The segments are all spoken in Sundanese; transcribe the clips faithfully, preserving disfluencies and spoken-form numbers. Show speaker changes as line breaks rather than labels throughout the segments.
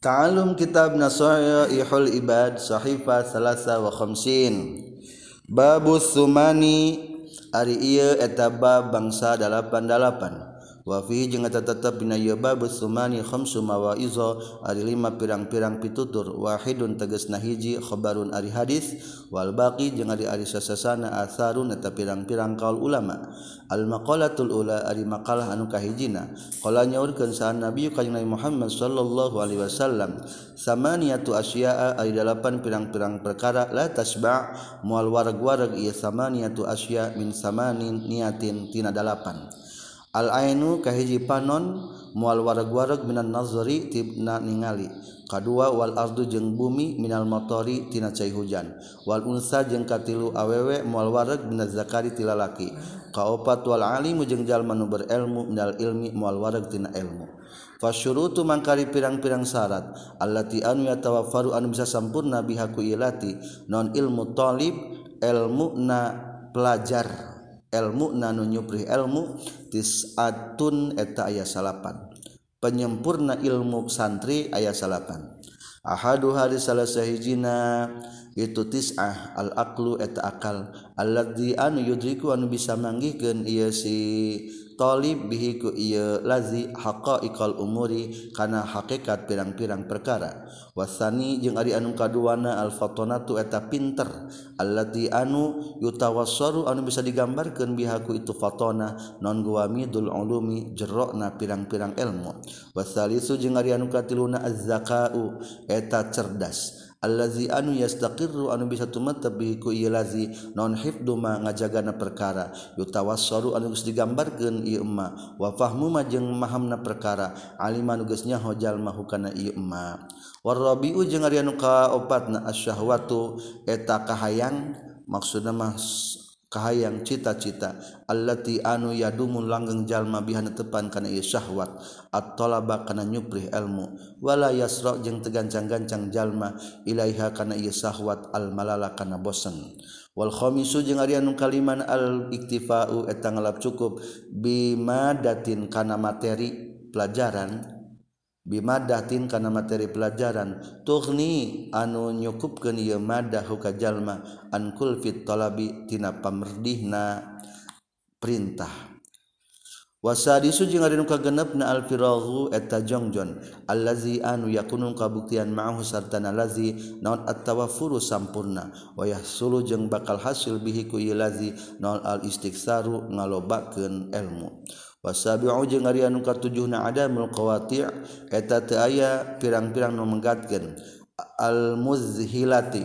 Ta'alum kitab Nasaihul Ibad Sahifa Salasa wa Khamsin. Babus Sumani ari ieu eta bab bangsa dalapan dalapan. Wa fihi jeung eta tetep dina ieu babus Sumani khamsu mawaiza ari lima pirang-pirang pitutur. Wahidun tegasna hiji khabarun ari hadis wal baqi jeung ari ari sasasana atharun eta pirang-pirang kaul ulama. Al maqalatul ula ari maqalah anu kahijina qala nyaurkeun sahan Nabi kanjeng Nabi Muhammad sallallahu alaihi wasallam samaniyatu asya'a ari dalapan pirang-pirang perkara la tasba' moal wareg-wareg ieu samaniyatu asya' min samanin niatin tina dalapan. Al ainu kahiji panon moal wareg-wareg minan nazari tibna ningali. Kadua wal ardu jeung bumi minal matori tina cai hujan. Wal unsa jeung katilu awewe moal wareg minaz zakari ti lalaki. Kaopat wal alimu jeung jalma nu berilmu minal ilmi moal wareg tina ilmu. Fasyurutu mangkari pirang-pirang syarat allati anu yatawaffaru anu bisa sampurna biha ku ilati non ilmu talib ilmu na pelajar ilmu na nu nyupri ilmu tis'atun eta aya salapan penyempurna ilmu santri aya salapan. Ahadu hari salah sahijina itu tis'ah al aqlu eta akal alladzi anu yudriku anu bisa manggihkeun ieu si talib bihi ku ieu lazi haqaiqal umuri kana hakikat pirang-pirang perkara. Wasani jeung ari anu kaduana al fatonatu eta pinter allati anu yutawassaru anu bisa digambarkeun biha ku itu fatona non guamidul ulumi jerokna pirang-pirang ilmu. Wasalisu jeung ari anu katiluna az-zakau eta cerdas allazi anu yastaqirru anu bisa tumatab bihi ku ieu lazi non hifdu ma ngajagana perkara yutawassaru anu geus digambarkeun ieu emma wa fahmu ma jeung mahamna perkara aliman anu geus nyaho jalma hukana ieu emma. Warabiu jeung ari anu kaopatna asyahwatu eta kahayang maksudna mah kahayang cita-cita allati anu yadumun langgeng jalma biha netepan kana ieu syahwat at-talaba kana nyuprih ilmu wala yasra jeung tegancang-gancang jalma ilaiha kana ieu syahwat al-malala kana bosen. Wal khamisu jeung ari anu kaliman al-iktifa'u eta ngalap cukup bimadatin kana materi pelajaran bimadatin kana materi pelajaran tughni anu nyukupkeun ieu madah ka jalma an kulfit talabi tina pamerdihna perintah. Wasadisu jeung ari nu kagenepna al firaghu eta jongjon allazi anu yakunu kabuktian ma'ahu sartana lazi naon at-tawaffuru sampurna wa yahsulu jeung bakal hasil bihi ku ieu lazi naon al istiksaru ngalobakeun ilmu. Wasabi'u jeung ari anu katujuhna adamul qawati' eta teu aya pirang-pirang nu menggatkeun al muzhilati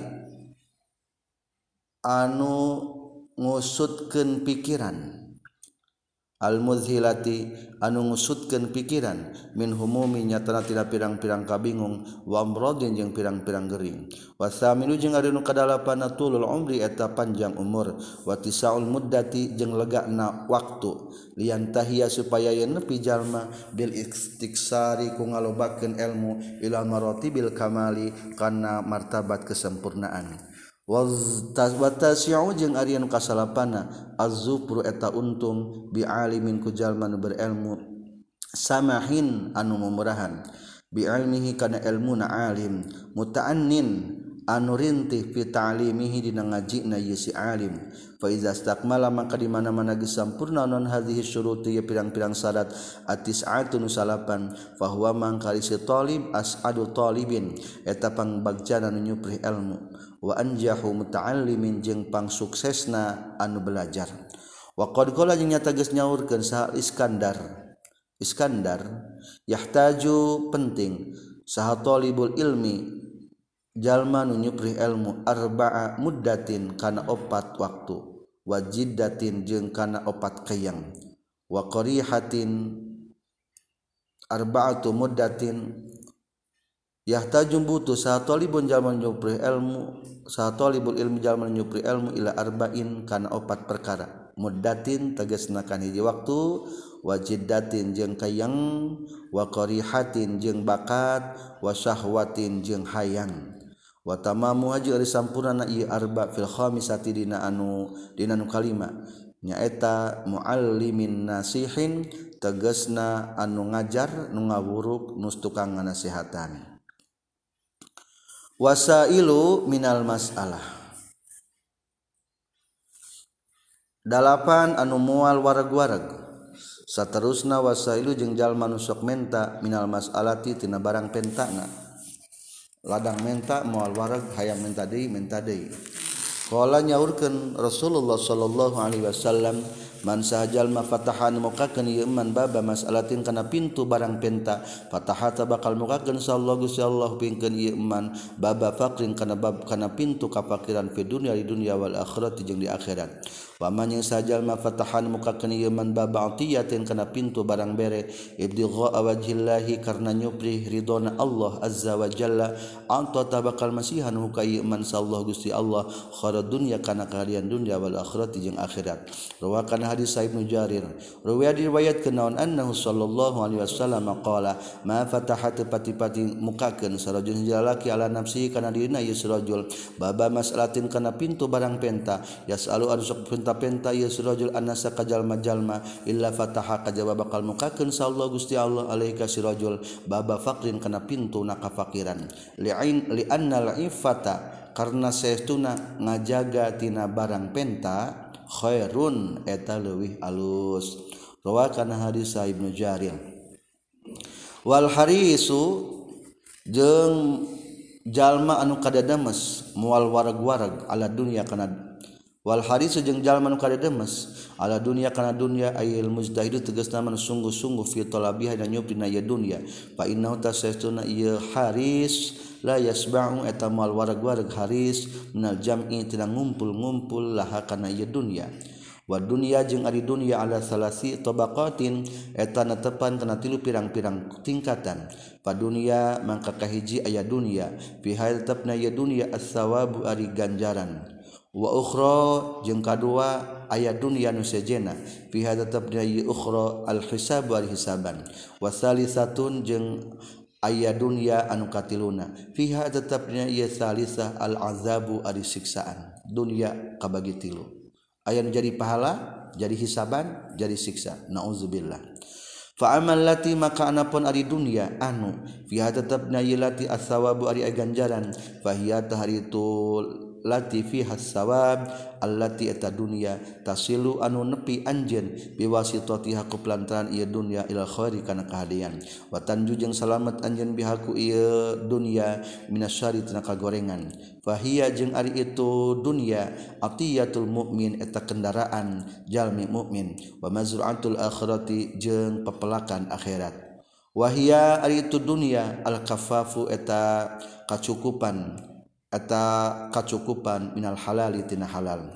anu ngusutkeun pikiran al muzhilati anu ngusutkeun pikiran min humumi nyatana tina pirang-pirang kabingung wa amradin jeung pirang-pirang gering. Wasaminu jeung ari nu kadalapan tulul umri eta panjang umur wa tisaul muddati jeung legana waktu lian tahiyya supaya yen nepi jalma bil istiksari ku ngalobakeun ilmu ila maratibil kamali kana martabat kesempurnaan. Watasi'u jeung ari anu kasalapana az-zufru eta untung bi alimin ku jalma nu berilmu samahin anu mumurahan bi ilmihi kana ilmuna alim muta'annin anu rintih fi ta'limihi dina ngajina ieu si alim. Fa iza istakmala maka di mana-mana geus sampurna non hadhihi syuruti ya pirang-pirang syarat atis'atun salapan fa huwa mangkali si talib as'adu talibin eta pangbagjaana nu nyuprih ilmu wa anjahu muta'allimin jeung pangsuksesna anu belajar. Wa qad qala jeung nyata geus nyaurkeun saha Iskandar Iskandar yahtaju penting saha talibul ilmi jalma nu nyuprih ilmu arba'a muddatin kana opat waktu wa jiddatin jeung kana opat kayang wa qarihatin arba'atu muddatin yahtaju butuh saha talibun jalma nyuprih ilmu saha talibul ilmi jalma nyuprih ilmu ila arba'in kana opat perkara muddatin tegasna kana hiji waktu wa jiddatin jeung kayang wa qarihatin jeung bakat wa syahwatin jeung hayang. Wa tamamu haji ari sampurna ieu arba fil khamisati dina anu dina nu kalima nyaeta muallimin nasihin tegasna anu ngajar nu ngawuruk nus tukang ngasihatan. Wasailu minal mas'alah. Dalapan anu mual warag-warag. Saterusna wasailu jeung jalma nu sok menta minal mas'alati tina barang pentana. Ladang menta mual warag hayang menta deui menta deui. Qala nyaurkeun Rasulullah sallallahu alaihi wasallam man sahajal ma fatahan mukakeun ieu man baba mas'alatin kana pintu barang penta fatahata bakal mukakeun sallallahu Gusti Allah pingkeun ieu man baba faqrin kana bab kana pintu kafakiran fi dunya di dunya wal akhirat jeung di akhirat wa man yang sahajal ma fatahan mukakeun ieu man baba atiyatin kana pintu barang bere ibtigha wajhillahi karna nyupri ridona Allah azza wa jalla anta tabakal masihan ka ieu man sallallahu Gusti Allah kharad dunya kana kahadian dunya wal akhirat jeung akhirat rawakan hadis Ibnu Jarir riwayat diriwayatkeun naon annahu sallallahu alaihi wasallam qala ma fatahat pati-pati mukakeun sarajul jalaki ala nafsi kana dirina ieu sarajul baba mas'alatin kana pintu barang penta yasalu anu sok penta-penta ieu sarajul annasa kajalma-jalma illa fataha kajaba bakal mukakeun sallallahu Gusti Allah alaika sirajul baba faqrin kana pintu na kafakiran li'ain li annal ifata karna saestuna ngajaga tina barang penta khairun eta leuwih alus rawakan hadis Ibnu Jarir wal harisu jeung jalma anu kadademes moal warag-warag ala dunya kana wal harisu jeung jalma anu kadademes ala dunya kana dunya ayil mujtahidu tegasna man sungguh-sungguh fi talabiha dan nyupina ieu dunya fa innahu tasastuna ieu haris la yasba'u eta mal warag-warag haris minal jam'i tina ngumpul-ngumpul laha kana ieu dunya wa dunya jeung ari dunya ala salasi tabaqatin eta netepan kana tilu pirang-pirang tingkatan pa dunya mangka kahiji aya dunya fi hadatna ieu dunya as-sawabu ari ganjaran wa ukhra jeung kadua aya dunya nu sejena fi hadatna ieu ukhra al-hisab wal hisaban wa salisatun jeung aya dunya anu katiluna fiha tetapnya ieu salisah al azabu ari siksaan dunya kabagi tilu aya nu jadi pahala jadi hisaban jadi siksa nauzubillah fa amal lati maka anapun ari dunya anu fiha tetapnya ieu lati as-sawabu ari ganjaran fa hiya tahritul lati fiha as-sawab allati eta dunya tasilu anu nepi anjeun biwasitatiha ku pelantaran ieu dunya ila khairi kana kahadian wa tanju jeung salamet anjeun bihaku ieu dunya minasyari tina kagorengan fa hiya jeung ari itu dunya atiyatul mukmin eta kendaraan jalmi mukmin wa mazru'atul akhirati jeung pepelakan akhirat wa hiya ari itu dunya al kafafu eta kacukupan eta kacukupan minal halali tina halal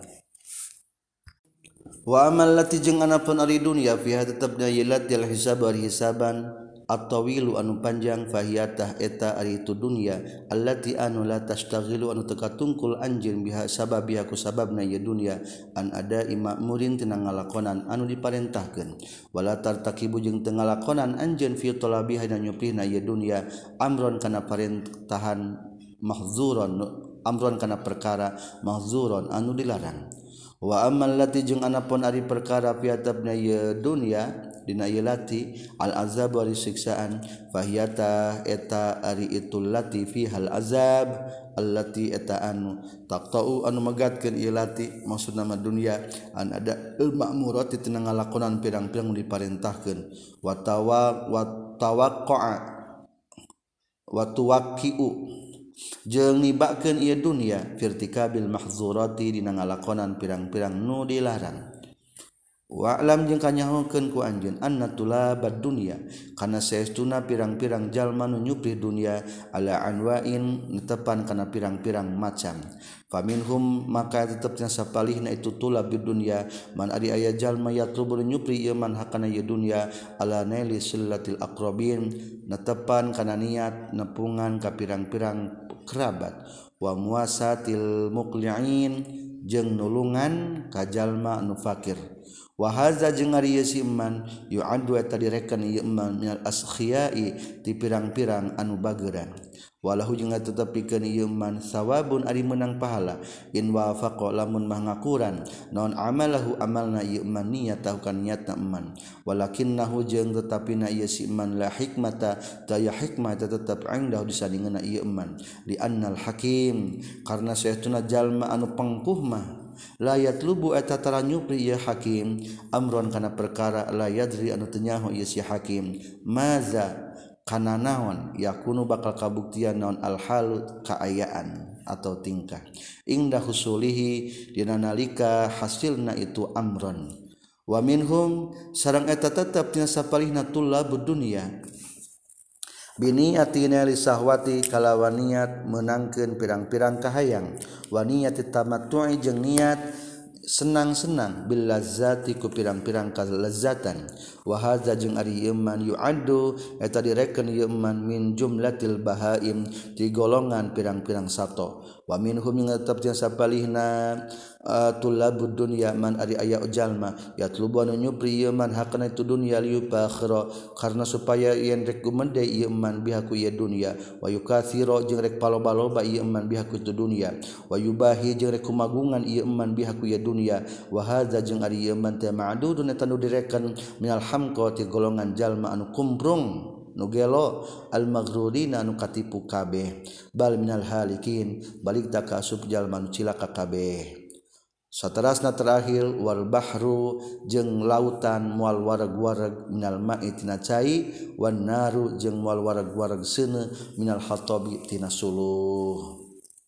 wa amal lati jeung anapun ari dunya fiha tetepna yilat al hisab ari hisaban at-tawilu anu panjang fahiyatah eta ari itu dunya allati anu la tastaghilu anu teka tungkul anjeun biha sababiha ku sababna ieu dunya an ada ma'murin tina ngalakonan anu diparentahkeun wala tartakibu jeung teu ngalakonan anjeun fi talabiha dan nyuprihna ieu dunya amron kana parentahan mahzuron amron kana perkara mahzuron anu dilarang wa ammal lati jeung anapun ari perkara piatabna ieu dunya dina ieu lati al azab ari siksaan fahiyata eta ari itu lati fihal azab allati eta anu taqta'u anu megatkeun ieu lati maksudna mah dunya an ada al ma'murat tina ngalakonan pirang-pirang diparentahkeun wa tawa wa tawaqqa'a wa tuwaqqi'u jeung nibakeun ieu dunya firtikabil mahzurati dina ngalakonan pirang-pirang nu dilarang wa alam jeung kanyahokeun ku anjeun anna tulabad dunya kana saestuna pirang-pirang jalma nu nyuprih dunya ala anwa'in netepan kana pirang-pirang macam faminhum maka tetepna sapalihna itu tulab di dunya man ari aya jalma yatlubu nyuprih ieu man hakana ieu dunya ala naili sillatil aqrabin netepan kana niat nepungan ka pirang-pirang kerabat wa muasatil muqli'in jeung nulungan ka jalma anu fakir wa hadza jeung ari ieu si iman yu'addu eta direken ieu iman minal askhiyai ti pirang-pirang anu bageuran walahu jeung tetep pikeun ieu iman sawabun ari menang pahala in wafaqa lamun mah ngakuran naon amalahu amalna ieu iman niatahu kan niatna iman walakinnahu jeung tetapina ieu si iman la hikmata daya hikmah tetep indahu disandingeuna ieu iman li annal hakim karna saestuna jalma anu pengkuh mah la yatlubu eta tara nyupri ieu hakim amron kana perkara la yadri anu teu nyaho ieu si hakim maza kana naon yakunu bakal kabuktian naon al halu kaayaan atau tingkah ingda husulihi dina nalika hasilna itu amron wa minhum sareng eta tetep tina sapalihna tullabud dunya bini atina li sahwati kalawan niat menangkeun pirang-pirang kahayang wa niat tamattu'i jeung niat senang-senang bil lazzati ku pirang-pirang kalezatan wa hadza jeung ari iman yu'addu eta direken ieu iman min jumlatil bahaim ti golongan pirang-pirang sato wa minhum yang tetep jeung sapalihna uh, tulabud dunya man ari aya jalma yatlubu anu nyupri ieu man hakana itu dunya liupakhira karna supaya yen rek gumende ieu iman biha ku ieu dunya wa yukatsira jeung rek paloba-loba ieu iman biha ku itu dunya wa yubahi jeung rek kumagungan ieu iman biha ku ieu dunya wa hadza jeung ari ieu iman teh ma'dudun eta nu direken minal hamqati golongan jalma anu kumprung nu gelo al maghrurina anu katipu kabeh bal minal halikin balik da ka asup jalma anu cilaka kabeh saterasna terakhir wal bahru jeung lautan moal wareg-wareg minal ma'i tina cai wan naru jeung moal wareg-wareg seuneu minal hatabi tina suluh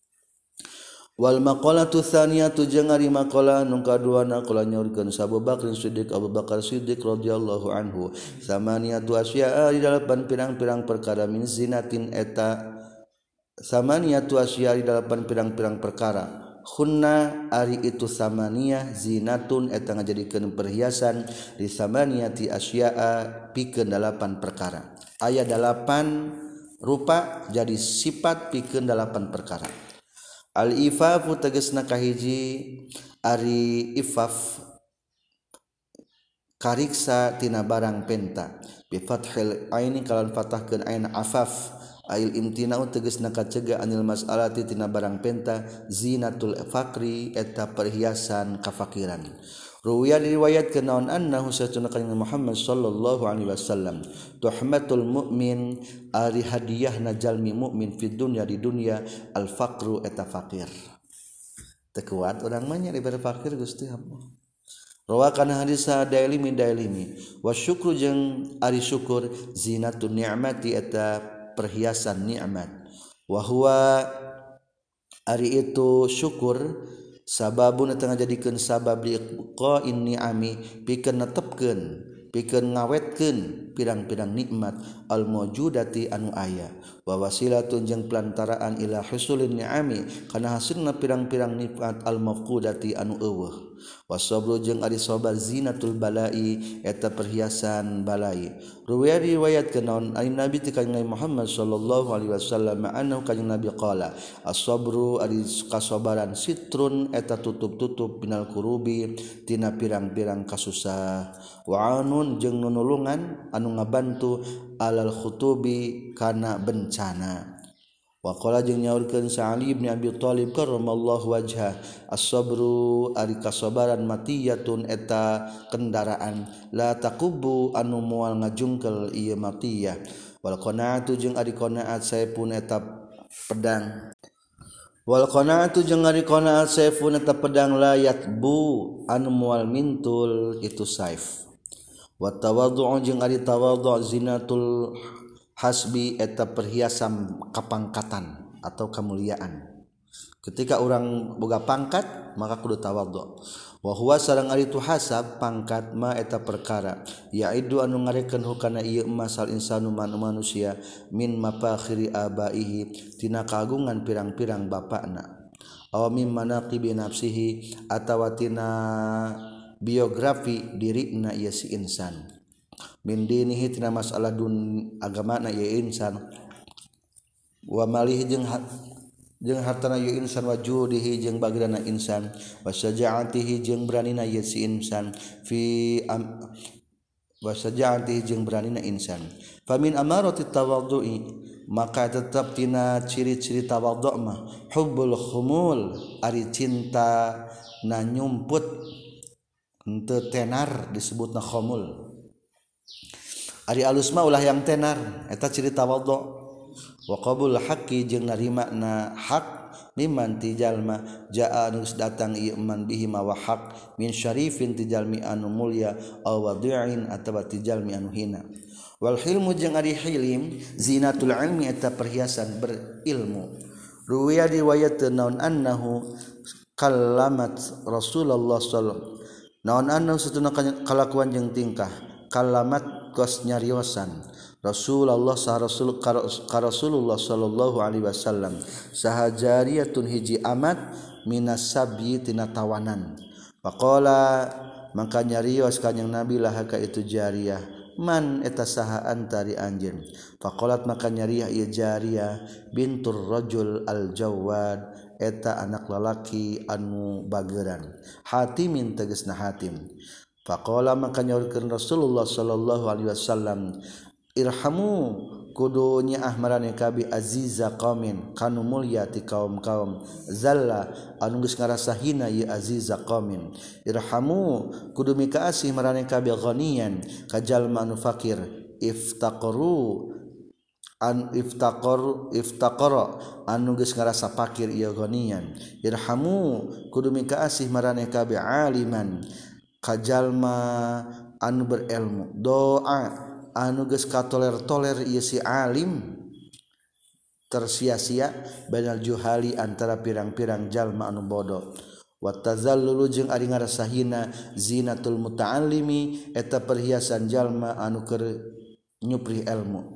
wal maqalatu tsaniyatu jeung ari maqalah nu kaduana qala nyaurkeun Abu Bakar Siddiq Abu Bakar Siddiq radhiyallahu anhu samaniyatu asya'a di dalapan pirang-pirang perkara min zinatin eta samaniyatu asya'a di dalapan pirang-pirang perkara khunna ari itu samaniyah zinatun eta ngajadikeun perhiasan di samaniyati asya'a pikeun dalapan perkara aya dalapan rupa jadi sifat pikeun dalapan perkara al-ifafu tegasna kahiji ari ifaf kariksa tina barang penta bi fathil aini kalan fathahkeun ain afaf ail imtina'u tegasna kacegah anil mas'alati tina barang penta zinatul faqri eta perhiasan kafakiran ruwiya diriwayatkeun naon annahu satuna kanjeng Muhammad sallallahu alaihi wasallam tuhmatul mukmin ari hadiyahna jalmi mukmin fid dunya di dunya al faqru eta fakir teu kuat urang mah nya dibere fakir Gusti Allah rawakan hadis Dailimi Dailimi wa syukru jeung ari syukur zinatun ni'mati eta perhiasan nikmat wa huwa ari itu syukur sababun eta ngajadikeun sabab liqa'in ni'ami pikeun netepkeun pikeun ngawetkeun pirang-pirang nikmat al mawjudati anu aya wa wasilatun jeung pelantaraan ila husulin ni'ami kana hasilna pirang-pirang nikmat al mafqudati anu eueuh wasabru jeung ari sabar zinatul balai eta perhiasan balai ruwiya riwayatkeun naon ari nabi ti kanjeng Muhammad sallallahu alaihi wasallam annahu kanjeng nabi qala as-sabru ari kasabaran sitrun eta tutup-tutup binal kurubi tina pirang-pirang kasusah wa anun jeung nunulungan anu ngabantu alal khutubi kana bencana wa qala jeung nyaurkeun Sa'ali bin Abi Thalib karramallahu wajhah as-sabru ari kasabaran matiyatun eta kendaraan la taqubu anu moal ngajungkel ieu matiyah wal qanaatu jeung ari qanaat saepun eta pedang wal qanaatu jeung ari qanaat saefun eta pedang la yatbu anu moal mintul itu saif wa tawadhu jeung ari tawadhu zinatul hasbi eta perhiasan kapangkatan atau kemuliaan ketika orang boga pangkat maka kudu tawadhu wa huwa sareng ari tu hasab pangkat ma eta perkara yaidu anu ngarekeun hukana ieu masal insanu manusia min mafakhiri abaihi tina kagungan pirang-pirang bapakna aw min manaqibi nafsihi atawa tina biografi dirina ieu si insan min dinihi tina masalah dun agamana ieu insan wa malih jeung jeung hartana ieu insan wajudihi jeung bagdana insan wasyaja'atihi jeung beranina ieu si insan fi am, wasyaja'atihi jeung beranina insan famin amarati tawaddu'i maka tetap tina ciri-ciri tawaddu' mah hubbul khumul ari cinta na nyumput henteu tenar disebutna khumul ari alus mah ulah yang tenar eta ciri tawaddu' wa qabul haqqi jeung narima na hak liman ti jalma jaa anu datang ieu man bihi ma wa haq min syarifin ti jalmi anu mulya aw wadi'in atawa ti jalmi anu hina wal hilmu jeung ari hilim zinatul ilmi eta perhiasan berilmu ruwiya riwayat naun annahu kallamat Rasulullah sallallahu naun annahu satuna kalakuan jeung tingkah kallamat kos nyariosan Rasulullah sah Rasul ka Rasulullah sallallahu alaihi wasallam saha jariyatun hiji amat minas sabyi tina tawanan faqala mangka nyarios kanjing Nabi lah ka itu jariyah man eta saha antari anjeun faqalat maka nyariah ieu jariyah bintur rajul al jawad eta anak lalaki anu bageuran hatimin tegasna hatim faqala maka nyaurkeun Rasulullah sallallahu alaihi wasallam irhamu kudu nyaah marane kabi aziza qaumin kanu mulya ti kaum-kaum zalla anu geus ngarasa hina ieu aziza qaumin irhamu kudu mikaasih marane kabi ghaniyan ka jalma anu fakir iftaqaru an iftaqar iftaqara anu geus ngarasa fakir ieu ghaniyan irhamu kudu mikaasih marane kabi aliman ka jalma anu berilmu doa anu geus katoler-toler ieu si alim tersia-sia bainal juhali antara pirang-pirang jalma anu bodoh wa tazallulu jeung ari ngarasa hina zinatul muta'allimi eta perhiasan jalma anu keur nyuprih ilmu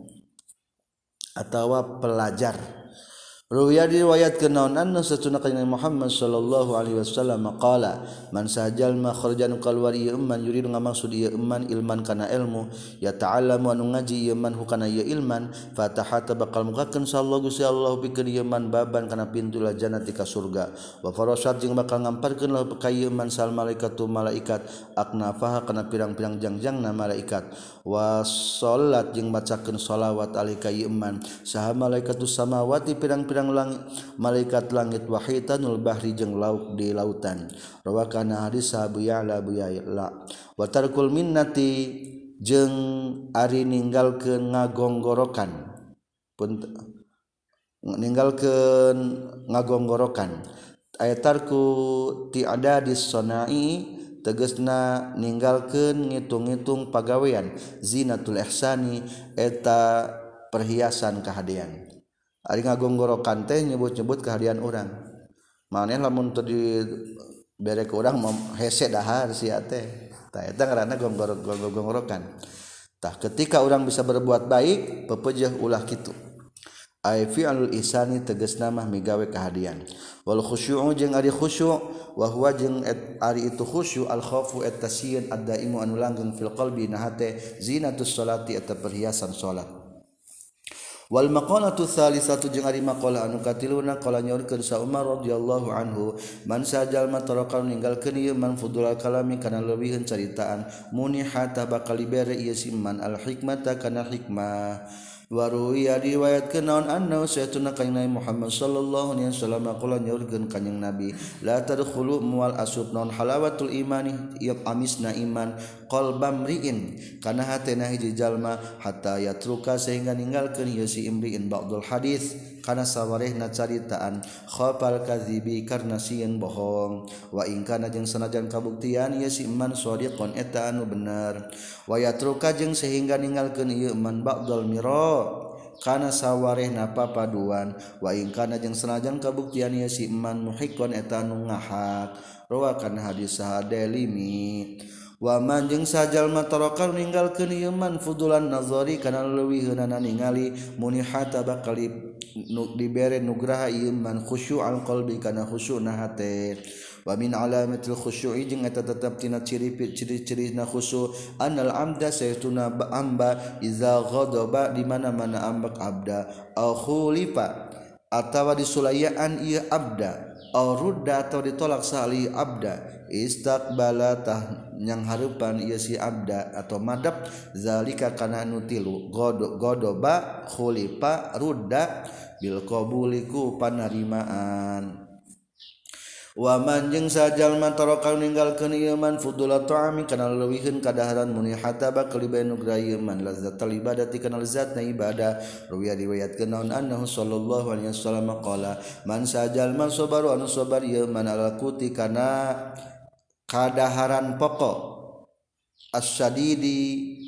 atawa pelajar ruwiya diriwayatkeun naon anna satuna kanjeng Muhammad sallallahu alaihi wasallam qala man sajal ma kharjan kalwar ieu man yuridu ngamaksud ieu man ilman kana ilmu ya ta'allamu anu ngaji ieu man hukana ieu ilman fatahata bakal mukakeun sallallahu Gusti Allah pikeun ieu man baban kana pintu la jannati ka surga wa farasat jeung bakal ngamparkeun lah ka ieu man sal malaikatu malaikat aknafaha kana pirang-pirang jangjangna malaikat wa salat jeung macakeun shalawat alika ieu man saha malaikatu samawati pirang-pirang langit malaikat langit wahitanul bahri jeung lauk di lautan rawakana hadis Abu Ya'la Abu Ya'la wa tarkul minnati jeung ari ninggalkeun ngagonggorokan pun ninggalkeun ngagonggorokan aya tarku ti adadis sonai tegasna ninggalkeun ngitung-ngitung pagawean zinatul ihsani eta perhiasan kahadean ari ngagonggorokan teh nyebut-nyebut kehadian urang maneh lamun teu di bere ke urang hese dahar sia teh tah eta ngaranna gonggorokan tah ketika urang bisa berbuat baik pepeujeuh ulah kitu ai fi'lul ihsani tegasna mah migawe kahadian wal khusyu'u jeung ari khusyu' wa huwa jeung ari itu khusyu' al khaufu at-tasyin ad-daimu anu langgeng fil qalbi na hate zinatus salati eta perhiasan salat wal maqalatu tsalisatu jeung ari maqalah anu katiluna qala nyaurkeun sa Umar radhiyallahu anhu man sajal mataraka ninggalkeun ieu man fudul kalami kana leuwihun caritaan munihata bakal dibere ieu siman al hikmata kana hikmah waruya riwayatkeun naon anna sayyiduna kanjeng Muhammad sallallahu alaihi wasallam qala nyaurkeun kanjeng Nabi la tadkhulu mual asub non halawatul imani ieu amisna iman qalbam riin kana hatena hiji jalma hatta yatruka sehingga ninggalkeun ieu si imriin ba'dul hadis kana sawarehna caritaan khafal kadzibi karna sieun bohong wa in kana jeung sanajan kabuktian ieu si iman shadiqon eta anu bener wa yatruka jeung sehingga ninggalkeun ieu iman ba'dul mira kana sawarehna papaduan wa in kana jeung sanajan kabuktian ieu si iman muhiqqon eta anu ngahak rawakan hadis sahadalimi wa man jeung sajal matarokal ninggalkeun ieu man fudulan nazari kana leuwiheunan ningali munihata bakal dibere nugraha ieu man khusyu'al qalbi kana khusyu'na hate wa min alamatil khusyu'i jeung eta tetep tina ciri-cirina khusyu' anal amda saytuna amba iza ghadaba di mana-mana ambak abda au khulifa atawa disulayaan ieu abda aw rudda atau ditolak sali abda istaqbala tah nyang hareupan ieu si abda atau madab zalika kana anu tilu godoba khulifa rudda bil qabuliku panarimaan wa man jeung sajalma taraka ninggalkeun ieu man fudula ta'ami kana leuwihkeun kadaharan muni hataba kalibae nugra ieu man lazzatal ibadati kana lezatna ibadah ruwiya riwayatkeun naon annahu sallallahu alaihi wasallam qala man sajalma sabaru anu sabar ieu man alakuti kana kadaharan pokok as-syadidi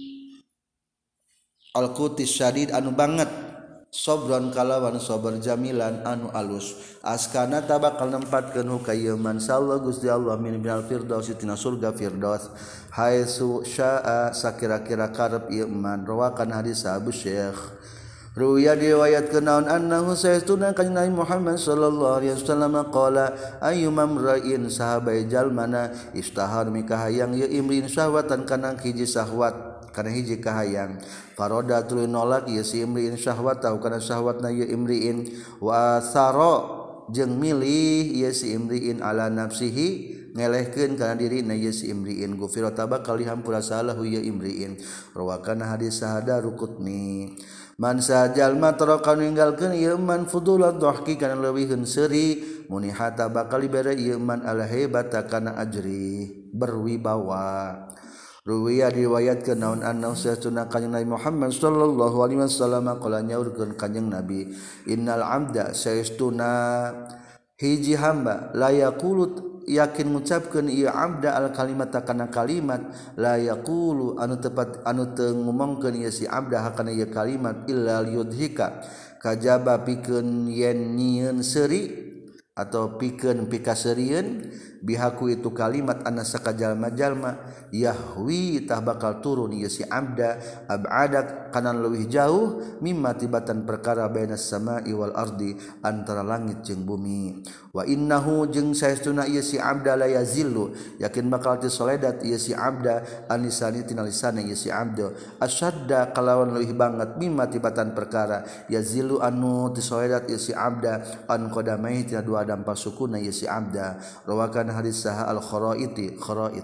al-qutis syadid anu banget sobron kalawan sober jamilan anu alus askana tabakal nempatkeun hu ka ieu man sallallahu Gusti Allah min binal firdaus tina surga firdaus haitsu syaa sakira-kira karep ieu man rawakan hadis Abu Syekh ruwiya diriwayatkeun naon annahu sayyiduna kanjeng Nabi Muhammad sallallahu alaihi wasallam qala ayyumam ra'in sahabai jalmana istahar mikahayang ieu imrin syahwatan kana hiji syahwat kana hiji kahayang faroda tuluy nolak ieu si imriin syahwat tahu kana syahwatna ieu imriin wa saro jeung milih ieu si imriin ala nafsihi ngelehkeun kana dirina ieu si imriin gufira tabakal dihampura salahu ieu imriin rawakan hadis sahada rukutni man sajalma taraka ninggalkeun ieu man fudulat dhahki kana leuwihkeun seuri muni hata bakal dibere ieu man ala hebata kana ajri berwibawa ruwiya riwayatkeun naon anna sayyiduna kanjeng Nabi Muhammad sallallahu alaihi wasallam qala nyaurkeun kanjeng Nabi innal abda sayyiduna hiji hamba la yaqulu yakin ngucapkeun ieu abda al kalimata kana kalimat la yaqulu anu tepat anu teu ngomongkeun ieu si abda hakana ieu kalimat illa yudhika kajaba pikeun yen nyieun seuri atau pikeun pikaseurieun bihaku itu kalimat anna sakajalma-jalma yahwi tah bakal turun ieu si abda ab'adak kana leuwih jauh mimma tibatan perkara bainas sama'i wal ardi antara langit jeung bumi wa innahu jeung saestuna ieu si abda la yazillu yakin bakal tisoledat ieu si abda anisani tina lisanna ieu si abda asyadda kalawan leuwih banget mimma tibatan perkara yazillu anu tisoledat ieu si abda an qadamai tina dua dampak sukuna ieu si abda rawakan hadis saha al-kharaiti kharait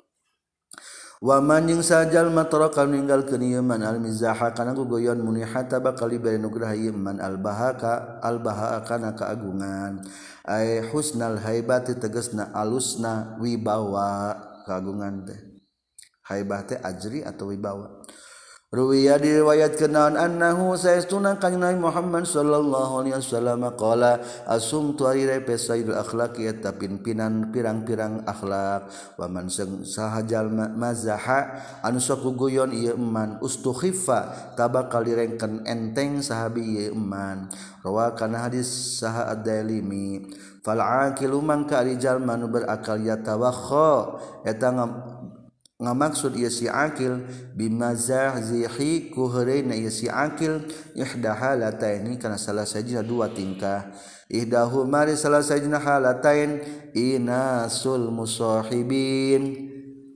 wa man jeung sajal mataraka ninggalkeun ieu man al-mizaha kana gugoyon muni hatta bakal dibere nugrah ieu man al-bahaka al-bahaa kana kaagungan ay husnal haibati tegasna alusna wibawa kaagungan teh haibah teh ajri atau wibawa ruwiya diriwayatkeun naon annahu saestuna kanjeng Nabi Muhammad sallallahu alaihi wasallam qala asumtu ari repe sayyidul akhlaqi eta pimpinan pirang-pirang akhlak wa man sahajal mazaha anu sok guyon ieu eman ustukhiffa tabakal direngkeun enteng sahabi ieu eman rawakan hadis saha ad-Dailimi fal aqilu man ka rijal manu berakal yatawakha eta ngamaksud ieu si akil bimazahzihi ku heureuna ieu si akil ihda halataini kana salah sajina dua tingkah ihdahu mari salah sajina halatain inasul musahibin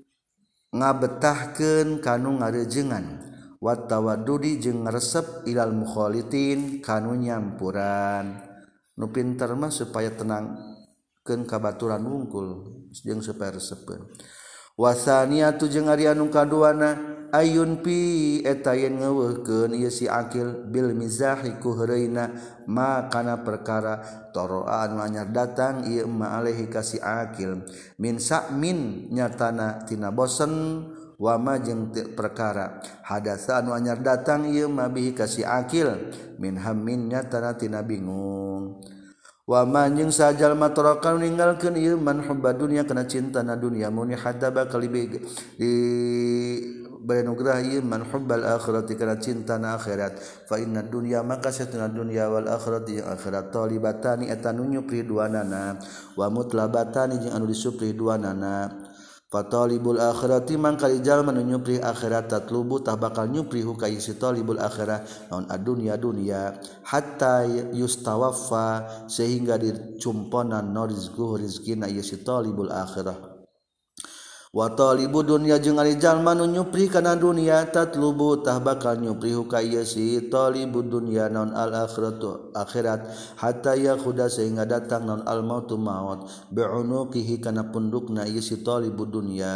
ngabetahkeun kanu ngarejengan wa tawaddudi jeung ngaresep ilal mukhalitin kanu nyampuran nu pinter mah supaya tenangkeun kabaturan wungkul jeung supaya resepeun wasaniatu jeung ari anu kaduana ayun pi eta yen ngeuweuhkeun ieu si akil bil mizahi ku heureuna ma kana perkara toroa anu anyar datang ieu ma alaihi ka si akil min sa'min nyatana tina bosen wa ma jeung perkara hadasa anu anyar datang ieu ma bihi ka si akil min hammin nyatana tina bingung wa man jeung sajal mataraka ninggalkeun ieu man hubba dunya kana cintana dunya muni hadaba kalibi di bayanugrah ieu man hubbal akhirati kana cintana akhirat fa inna dunya maka satuna dunya wal akhirati jeung akhirat talibatani eta nu nyupri duanana wa mutlabatani jeung anu disupri duanana fatalibul akhirati mangka jalma nu nyupri akhirat tatlubu tah bakal nyupri hu ka isi talibul akhirah naon adunya dunya hatta yustawaffa sehingga dicumponan no rizqu rizqina isi talibul akhirah wa talibu dunya jeung ari jalma nu nyupri kana dunya tatlubu tah bakal nyupri ka ieu si talibu dunya naon al akhiratu akhirat hatta yakhuda sehingga datang naon al mautu maut bi'unuqihi kana pundukna ieu si talibu dunya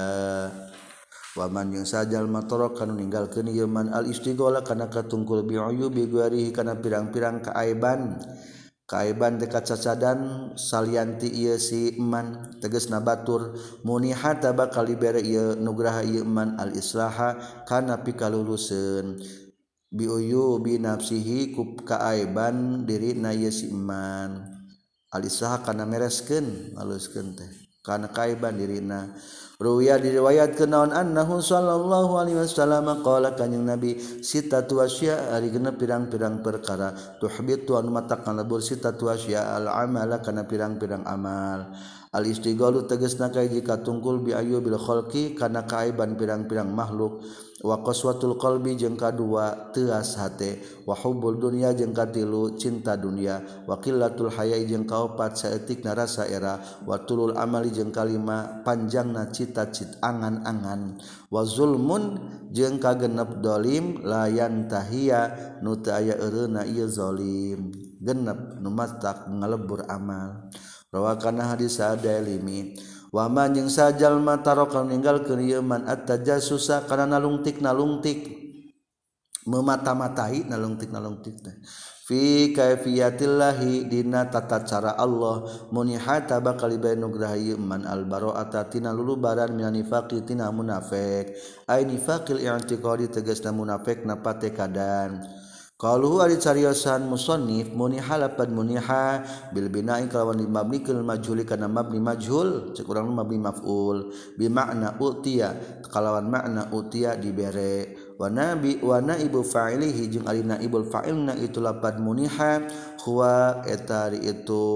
wa man jeung sajal matorok kana ninggalkeun ieu man al istighala kana katungkul bi'uyubi guarihi kana pirang-pirang kaaiban kaaiban dekat cacadan salianti ieu si eman tegasna batur munihata bakal dibere ieu nugraha ieu eman al islaha kana pikaluluseun bi'uyubi nafsihi ku kaaiban dirina ieu si eman al islaha kana mereskeun ngaluskeun teh kana kaaiban dirina. Ruwiya diriwayatkeun naon annahu sallallahu alaihi wasallam qala kanjing nabi sitatu asya ari genep pirang-pirang perkara tuhbitu anu matakna labur sitatu asya al amala kana pirang-pirang amal al istighalu tegasna ka jika tungkul bi ayyubil khalqi kana kaaiban pirang-pirang makhluk wa qaswatul qalbi jeung kadua teuas hate wa hubbul dunya jeung katilu cinta dunia wa qillatul haya'i jeung kaopat saeutikna rasa era wa tulul amali jeung kalima panjangna cita-cita angan-angan wa zulmun jeung kagenep dolim layan tahia nu teu aya eureuna ieu zalim genep nu matak ngalebur amal rawakana hadis Ad-Dailimi wa man jeung sajal matarok ninggalkeun ieu man at-tajassusa kana nalungtik nalungtik memata-matai nalungtik nalungtik teh fi kaifiyatillahi dina tata cara Allah munihata bakal diberi nugraha ieu man al-bara'ata tina lulubaran minan nifaqi tina munafik ai nifaqil i'tiqadi tegasna munafikna patekadan. Qaluhu ari cariosan musannif muniha lapad muniha bil bina'i kalawan mabnikeun majhul kana mabni majhul cek urang mabni maf'ul bi makna utiya kalawan makna utiya dibere wa nabi wa naibu fa'ilihi jeung ari naibul fa'ilna itu lapad muniha huwa eta itu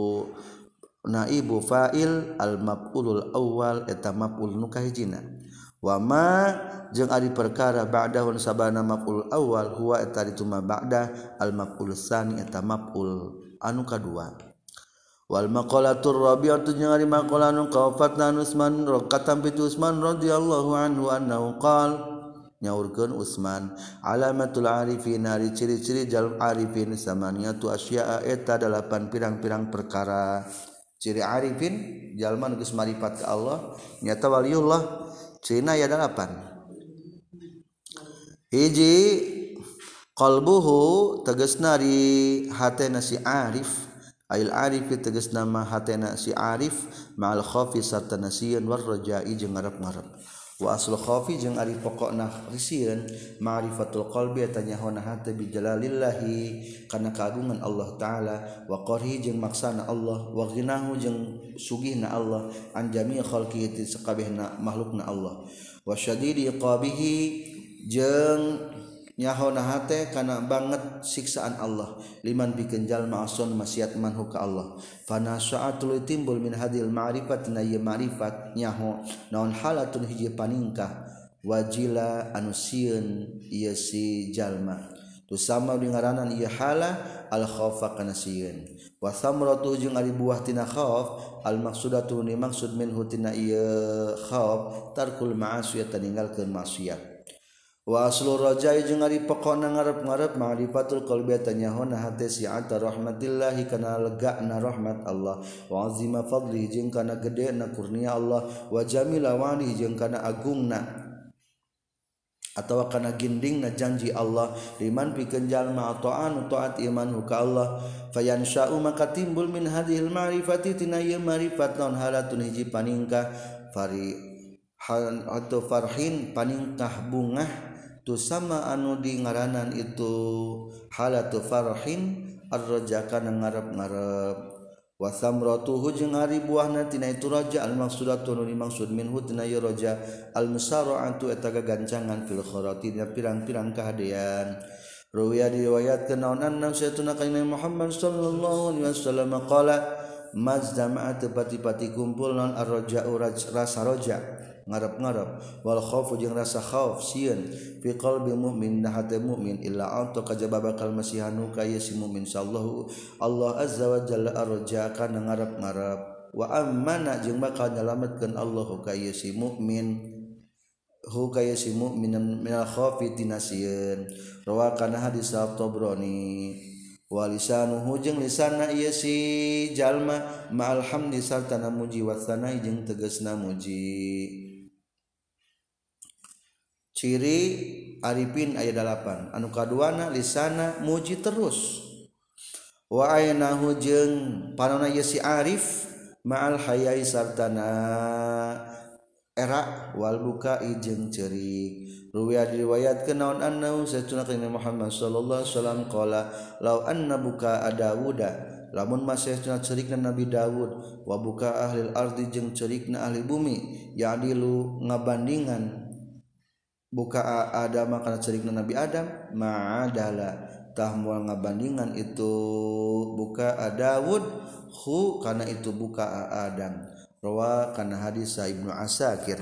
naibu fa'il al maf'ulul awwal eta maf'ul nu kahijina wa ma jeung ari perkara ba'dahu sabana maf'ul awal huwa eta ditu ma ba'da al maf'ul tsani eta maf'ul anu kadua wal maqalatur rabi'atu jeung ari maqalah anu qafatna Utsman rakatam bi Utsman radhiyallahu anhu annahu qala nyaurkeun Utsman alamatul arifin ari ciri-ciri jalm arifin samaniyatu asya'a eta dalapan pirang-pirang perkara ciri arifin jalma nu geus marifat ka Allah nyata waliullah cirina aya dalapan hiji qalbuhu tegasna di hatena si arif ail arif tegasna ma hatena si arif ma'al khaufi sarta nasieun war raja'i jeung ngarep-ngarep wa aslu khaufi jeung ari pokokna risieun ma'rifatul qalbi eta nyahona hate bi jalalillahi kana kaagungan Allah taala wa qarhi jeung maksana Allah wa ghinahu jeung sugihna Allah an jami' khalqihi ti sakabehna makhlukna Allah wa syadidi iqabihi jeung nyahona hate kana banget siksaan Allah liman bikeun jalma ason maksiat manhu ka Allah fana sa'atul timbul min hadil ma'rifat na ya ma'rifat nyaho naon halatun hiji paningkah wajila anu sieun ieu si jalma tu sama di ngaranan ieu hala al khaufa kana sieun wa samratu jeung ari buah tina khauf al maksudatu ni maksud minhu tina ieu khauf tarkul ma'asiyah ninggalkeun maksiat wa aslu rajai jeung ari pokona ngarep-ngarep ma'rifatul qalbi tanyahona hate si'ata rahmatillahi kana legana rahmat Allah wa azima fadli jeung kana gedena kurnia Allah wa jamila wali jeung kana agungna atawa kana gindingna janji Allah liman pikeun jalma ta'an taat imanhu ka Allah fayansha'u maka timbul min hadhil ma'rifati tina ieu ma'rifat non halatun hiji paningkah fari hal atau farhin paningkah bungah tu sama anu di ngaranan itu halatu farhin ar-raja kana ngarep-ngarep wa samratuhu jeung ari buahna tina itu raja al maksudatu nu dimaksud minhu tina ieu raja al musara'atu eta gagancangan fil khairati dina pirang-pirang kahadean ruwiya diriwayatkeun naon anna sayyiduna kanjeng Muhammad sallallahu alaihi wasallam qala mazdama'at pati-pati kumpul naon ar-raja'u rasa raja ngarep-ngarep wal khaufu jeung rasa khauf sieun fi qalbi mukmin da hate mukmin illa anta kajaba bakal masihanu ka ieu si mukmin sallallahu Allah azza wa jalla arja kana ngarep-ngarep wa ammana jeung bakal nyalametkeun Allah ka ieu si mukmin hu ka ieu si mukmin minal khaufi tinasieun rawa kana hadis at-Tabrani wa lisanuhu jeung lisanna ieu si jalma ma'al hamdi sartana muji wa sanai jeung tegasna muji. Ciri arifin aya dalapan anu kaduana lisana muji terus wa aynahu jeung panonna ieu si arif ma'al hayai sartana era wal bukai jeung ceurik ruwiya diriwayatkeun naon annahu satuna kana Muhammad sallallahu alaihi wasallam qala law anna buka Dawuda lamun masehna ceurikna Nabi Daud wa buka ahli ardi jeung ceurikna ahli bumi ya'dilu ngabandingan buka Adam kana ceurikna Nabi Adam ma'adala tah moal ngabandingan itu buka Daud hu kana itu buka Adam rawa kana hadis Ibnu Asakir.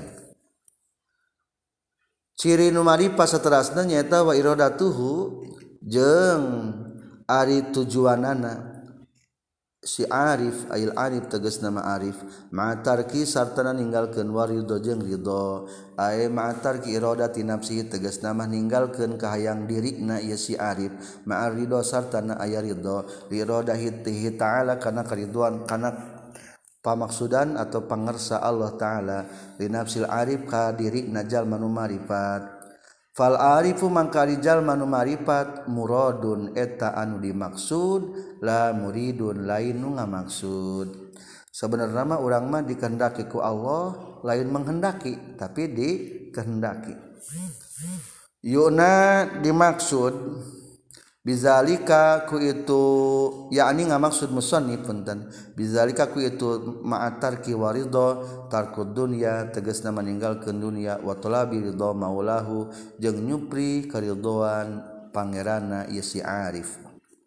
Ciri nu maripah saterasna nyaeta wa iradatuhu jeung ari tujuanana si arif ail arif tegasna ma arif ma'atarki sartana ninggalkeun warido jeung ridho ae ma'atarki iradati nafsi tegasna mah ninggalkeun kahayang dirina ieu si arif ma'ar ridho sartana aya ridho iradahi ta'ala kana kariduan kana pamaksudan atau pangersa Allah taala li nafsil arif ka dirina jalma nu marifat. Fal arifu mangkari jalma nu marifat muradun eta anu dimaksud la muridun lain nu ngamaksud. Sebenarnya mah urang mah dikehendaki ku Allah lain menghendaki tapi dikehendaki. Yuna dimaksud bizalika ku itu yakni ngamaksud musannif punten bizalika ku itu ma'atarki waridho tarkud dunya tegasna maninggalkeun dunya wa talabi ridho maulahu jeung nyupri karidhoan pangeranna ieu si arif.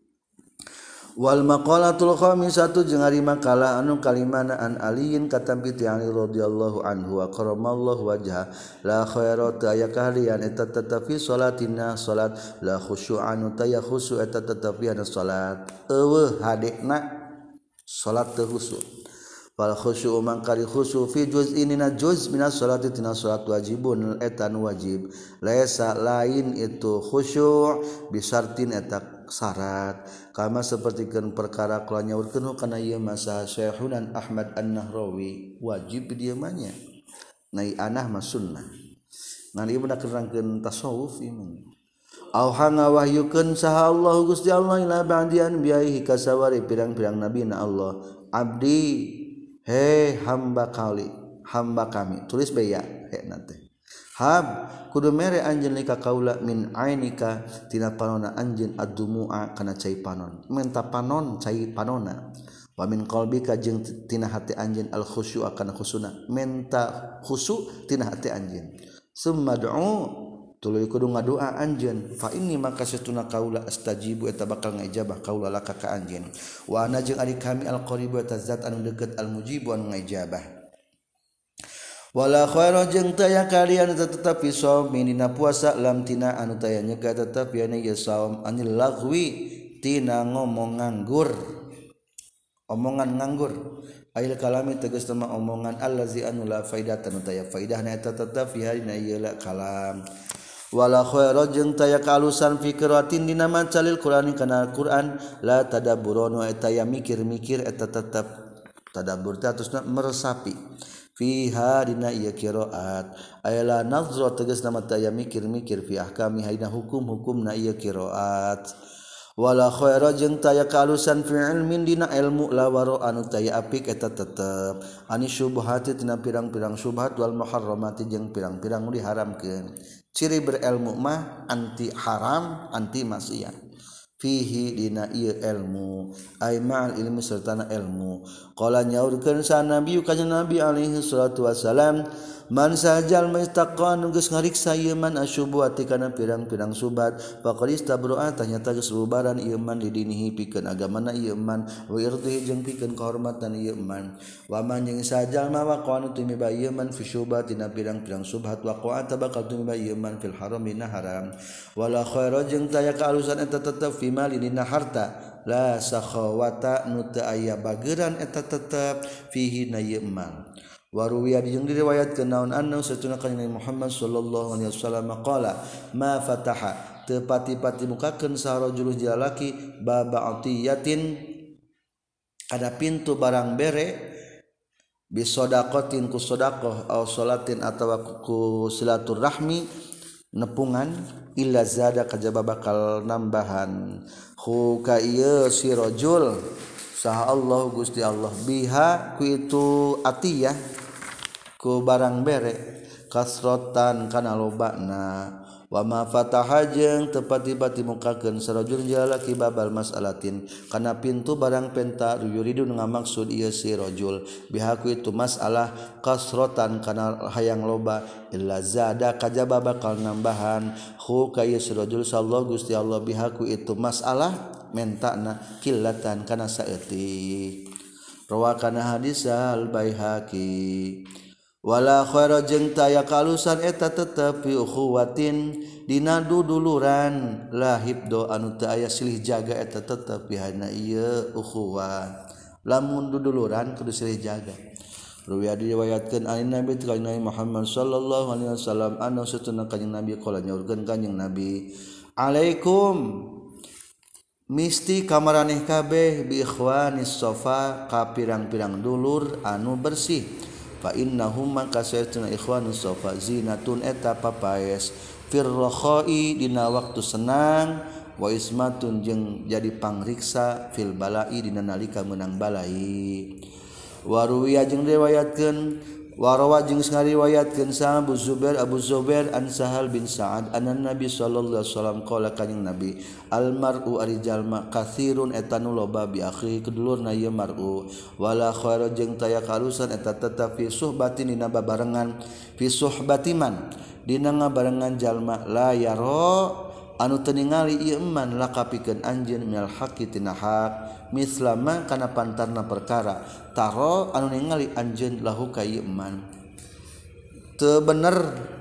Wal maqalatul khamisatu jeung ari makalah anu kalimana an aliin katampi ti Ali radhiyallahu anhu wa karamallahu wajha la khairata aya kahalian eta tetapi salatina salat la khusyu'an ta ya khusyu' eta tetapi ana salat eueuh hadekna salat teu khusyu' wal khusyu'u mangkari khusyu' fi juz'inina juz' minas salati tina salat wajibun eta nu wajib laisa lain itu khusyu' bisartin eta syarat kama sapertikeun perkara kula nyaurkeun kana ieu masa Syekhuna Ahmad An-Nahrawi wajib dieu mah nya nai anah mah sunnah ngan ieu beuna kerangkeun tasawuf ieu au hanga wahyukeun saha Allah Gusti Allah ila ba'dian biaihi kasawari pirang-pirang nabina Allah abdi he hamba kali hamba kami tulis bae ya he nanti hab kudu mere anjeun ka kaula min ainika tina panonna anjeun ad-dumu'a kana cai panon menta panon cai panonna wa min qalbika jeung tina hati anjeun al khusyu'a kana khusuna menta khusyu' tina hati anjeun summa du'u tuluy kudu ngadoa anjeun fa inni maka satuna kaula astajibu eta bakal ngajabah kaula laka ka anjeun wa ana jeung ari kami al qaribu eta zat anu deukeut al mujibu anu ngajabah. Wala khaira jeung teu aya kalian tetapi saum dina puasa lam tina anu taya nyegah tetapi anu ya saum anil lagwi tina ngomong nganggur omongan nganggur ail kalami tegas nama omongan allazi anu la faidatan taya faidahna eta tetapi harina ieu la kalam. Wala khaira jeung taya kalusan fi qiraatin dina macalil Qur'an kana Qur'an la tadabburun eta ya mikir-mikir eta tetep tadabbur teh atusna meresapi fiha dina ieu qiraat ayala nazra tegasna mata aya mikir-mikir fi ahkami haina hukum-hukumna ieu qiraat wala khaira jeung taya kalusan fi ilmin dina ilmu la waro anu taya apik eta tetep ani syubhati tina pirang-pirang syubhat wal muharramati jeung pirang-pirang nu diharamkeun ciri berilmu mah anti haram anti maksiat fihi dina ieu ilmu ay ma'al ilmi sertana ilmu qala nyaurkeun sa nabi kanjeng nabi alaihi salatu wasalam man sajal mustaqan geus ngariksa ieu man asyubuhati kana pirang-pirang subat faqad istabro'a tanyata geus bubaran ieu man didinihi pikeun agamana ieu man wa irdihi jeung pikeun kahormatan ieu man wa man jeung sajal ma waqa'an tumiba ieu man fi syubhatina pirang-pirang subhat waqa'a tabaqal tumiba ieu man fil haram dina haram wala khaira jeung taya kaalusan eta tetep fi mali dina harta la sakhawata nu teu aya bageran eta tetep fihi na ieu emal. Waruwiya jeung diriwayatkeun naon anna satuna kanjeng Muhammad sallallahu alaihi wasallam qala ma fataha teu pati-pati mukakeun sarojul jalaki baba atiyatin ada pintu barang bere bisodaqatin ku sedekah aw salatin atawa ku silaturahmi nepungan illa zada kajaba bakal nambahan hu ka ieu si rajul saha Allah Gusti Allah biha ku itu atiyah ku barang bere kasrotan kana lobana wa ma fataha jeung teu pati-pati mukakeun sarajul jalaki babal mas'alatin kana pintu barang penta yuridu ngamaksud ieu si rajul biha ku itu masalah kasrotan kana hayang loba illa zada kajaba bakal nambahan hu ka ieu si rajul sallallahu Gusti Allah biha ku itu masalah mentana qillatan kana saeutik rawakana hadis al Baihaqi wala khaira jeung taya kalusan eta tetep fi ukhuwatin dina duduluran la hibdo anu teu aya silih jaga eta tetep pihana ieu ukhuwah lamun duduluran kudu silih jaga ruwiya diriwayatkeun an Nabi Nabi Muhammad sallallahu alaihi wasallam anu satuna kanjing Nabi qala nyaurkeun kanjing Nabi alaikum misti kamaraneh kabeh bi ikhwanis safa ka pirang-pirang dulur anu bersih fa innahum maka saytuna ikhwanus safa zinatun eta papaes firrakhai dina waktu senang wa ismatun jeung jadi pangriksa fil balai dina nalika meunang balai waruwiya jeung riwayatkeun warawa jeung ngariwayatkeun sa Abu Zubair Abu Zubair an Sahal bin Sa'ad anan Nabi sallallahu alaihi wasallam qala kanjing Nabi al mar'u ari jalma katsirun eta nu loba bi akhi kedulurna ieu mar'u wala khaira jeung taya kalusan eta tetep fi suhbatin dina babarengan fi suhbatiman dina ngabarengan jalma la yaro anu teu ningali ieu eman lakapikeun anjeun minal haqqi tina haq mislama kana pantarna perkara taro anu ningali anjeun lahu ka ieu eman teu bener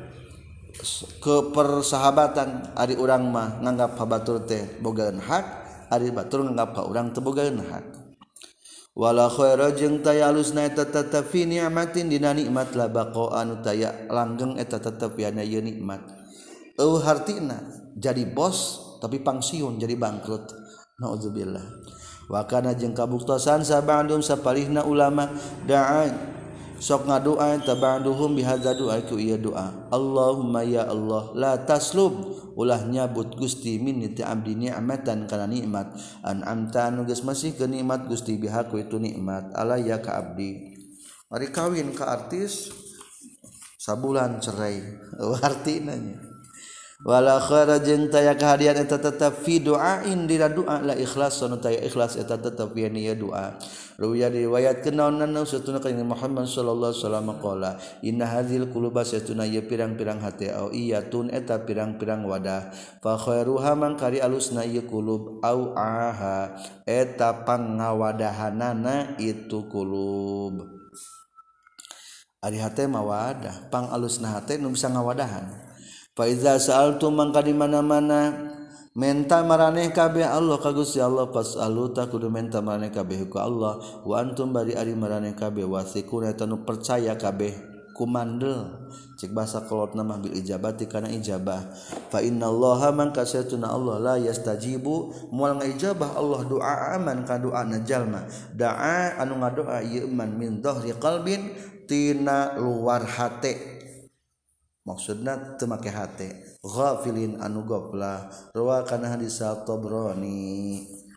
ke persahabatan ari urang mah nganggap habatur teh bogaeun hak ari batur nganggap ka urang teu bogaeun hak wala khaira jeung taya alusna eta tetep fi ni'matin dina nikmat la baqa anu taya langgeng eta tetep yana ieu nikmat eueuh hartina jadi bos tapi pangsiun jadi bangkrut naudzubillah wa kana jeung kabuktosan sabandum sapalihna ulama da'a sok ngadoa tabaduhum bihadza doa ku ieu doa Allahumma ya Allah la taslub ulah nyabut Gusti min ti abdi ni'matan kana nikmat an amta anu geus masih ke nikmat Gusti biha ku itu nikmat alaya ka abdi mari kawin ka artis sabulan cerai artina nya wala khaira jeung taya kahadian eta tetep fi du'ain dina doa la ikhlas sanu taya ikhlas eta tetep pi ieu doa ruwiya diriwayatkeun naon satuna kanjeng Muhammad sallallahu alaihi wasallam qala inna hadzal quluba satuna ieu pirang-pirang hate au iyatun eta pirang-pirang wadah fa khairuha man kari alusna ieu qulub au aha eta pangawadahanana itu qulub ari hate mah wadah pang alusna hate nu bisa ngawadahan fa iza sa'altum mangka di mana-mana menta maraneh kabeh Allah ka Gusti Allah fasalu ta kudu menta maraneh kabeh ku Allah wa antum bari ari maraneh kabeh wasiquna eta nu percaya kabeh kumandel cik basa kolotna mah bil ijabati kana ijabah fa innallaha mangka satuna Allah la yastajibu moal ngaijabah Allah doa aman ka doana jalma daa anu ngadoa ieu man min dhahri qalbin tina luar hate maksudna teu make hate ghafilin anu goflah rawa kana hadis Tabrani